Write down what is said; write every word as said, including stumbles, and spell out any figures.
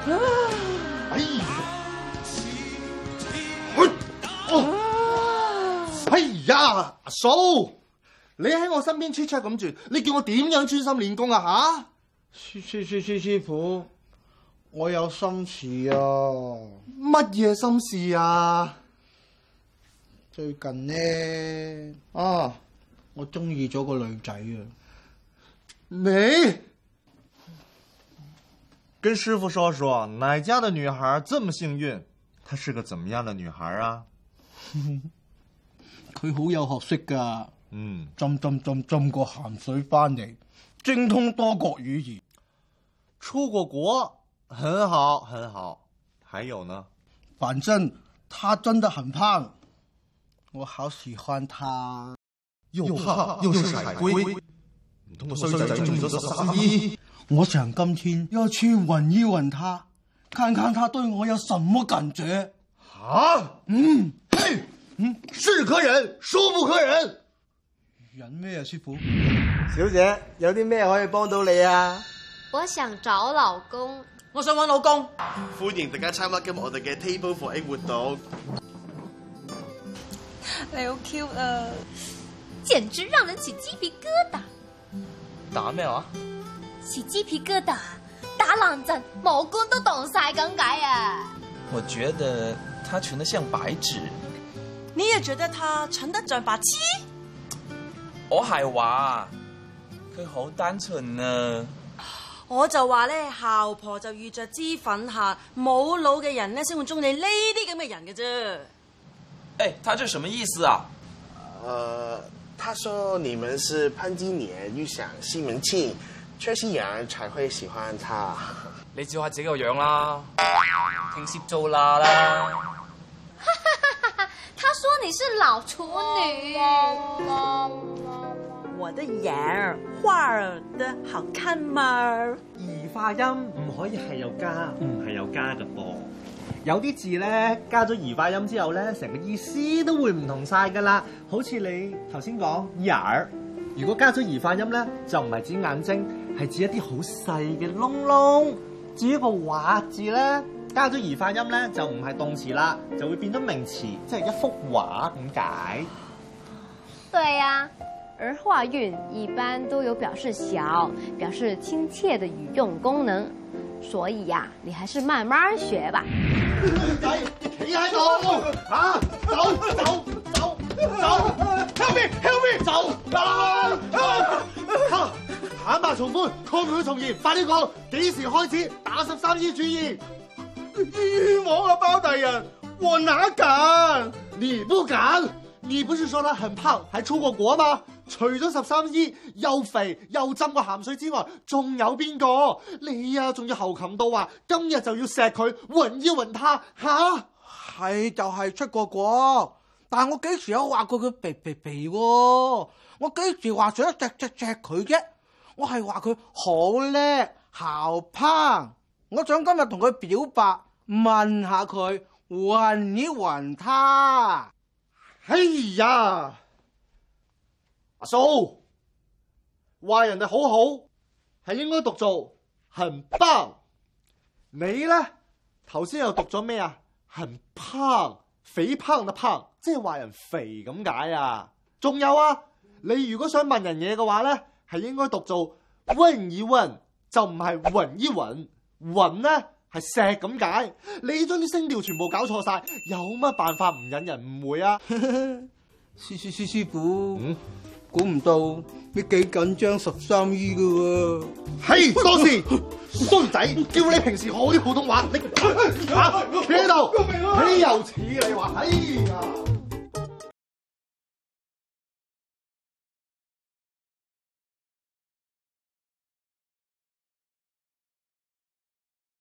哎呀！哦！哎呀，阿嫂，你喺我身邊 check check 咁住，你叫我點樣專心練功啊？吓！ 師師師師師傅，我有心事啊！ 乜嘢心事啊？ 最近呢，啊，我中意咗個女仔啊！ 你跟師傅說說，哪家的女孩這麼幸運？她是個怎麼樣的女孩啊？ 佢好有學識噶， 嗯， 浸浸浸浸過鹹水翻嚟，精通多國語言， 出過國，很好很好。還有呢？ 反正她真的很胖，我好喜歡她。 又怕又是海龜，唔通個衰仔中意咗十三姨？ 我想今天要去吻一吻她，看看她對我有什麼感覺。 啊？ 嗯， 嘿，嗯，是可忍，孰不可忍？ 忍咩啊，師傅？ 小姐，有啲咩可以幫到你啊？ 我想找老公， 我想揾老公。 歡迎大家參加今日我哋嘅 Table for Eight 活動。 你好 cute 啊！ 簡直讓人起雞皮疙瘩。 打咩話？ 起雞皮疙瘩，打冷震，毛管都凍晒咁解啊！ 我覺得他純得像白紙。 你也覺得他純得像白痴？ 我係話佢好單純啊！ 我就話咧，姣婆就遇着脂粉客，冇腦嘅人咧先會中意呢啲咁嘅人嘅啫。 誒，他這什麼意思啊？ 呃，他說你們是潘金蓮遇上西門慶，缺心眼兒才會喜歡他。 你照下自己個樣啦，聽攝做啦啦。 他說你是老處女。 我的眼兒畫得好看嗎？ 兒化音唔可以係有加，唔係有加嘅噃。有啲字咧加咗兒化音之後咧，成個意思都會唔同晒噶啦。好似你頭先講眼兒，如果加咗兒化音咧，就唔係指眼睛，係指一啲好細嘅窿窿。至於個畫字咧，加咗兒化音咧，就唔係動詞啦，就會變咗名詞，即係一幅畫咁解。 對呀、啊，而化韻一般都有表示小、表示親切的語用功能，所以呀、啊，你還是慢慢學吧。 仔，企喺度，嚇，走走走走 ，help me help me， 走啊！嚇，坦白從寬，抗拒從嚴，快啲講，幾時開始打十三姨主意？ 冤枉啊，包大人，我哪敢？ 你不敢？你不是說他很胖，還出過國嗎？除咗十三姨又肥又浸過鹹水之外，仲有邊個？你啊，仲要猴擒到話今日就要錫佢，吻一吻他吓？ 係就係出過國，但我幾時有話過佢肥肥肥喎？我幾時話想錫錫錫佢啫？我係話佢好叻，姣胖。我想今日同佢表白，問下佢，吻一吻他。 哎呀，阿嫂，話人哋好好係應該讀做很棒，你咧頭先又讀咗咩啊？很胖，肥胖的胖，即係話人肥咁解啊！仲有啊，你如果想問人嘢嘅話咧，係應該讀做問一問，就唔係吻一吻，吻咧係錫咁解，你將啲聲調全部搞錯晒，有乜辦法唔引人誤會啊？ 師師師師傅， 嗯， 估唔到你幾緊張十三姨噶喎。 係多事，衰仔，叫你平時學啲普通話，你嚇企喺度，豈有此理話？哎呀！